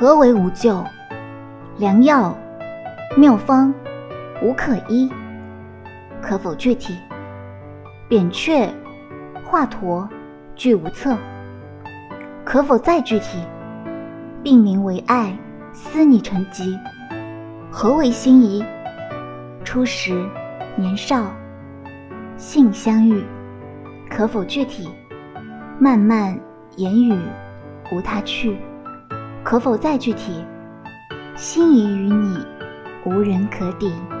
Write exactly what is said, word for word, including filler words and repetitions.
何为无救？良药妙方无可医，可否具体？扁鹊华佗俱无策，可否再具体？病名为爱，思你成疾，何为心仪？初时年少，性相遇，可否具体？漫漫言语无他去，可否再具体？心仪于你，无人可抵。